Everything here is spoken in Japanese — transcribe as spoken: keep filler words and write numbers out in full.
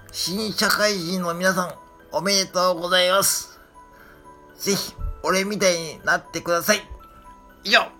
新社会人の皆さん、おめでとうございます。ぜひ、俺みたいになってください。以上。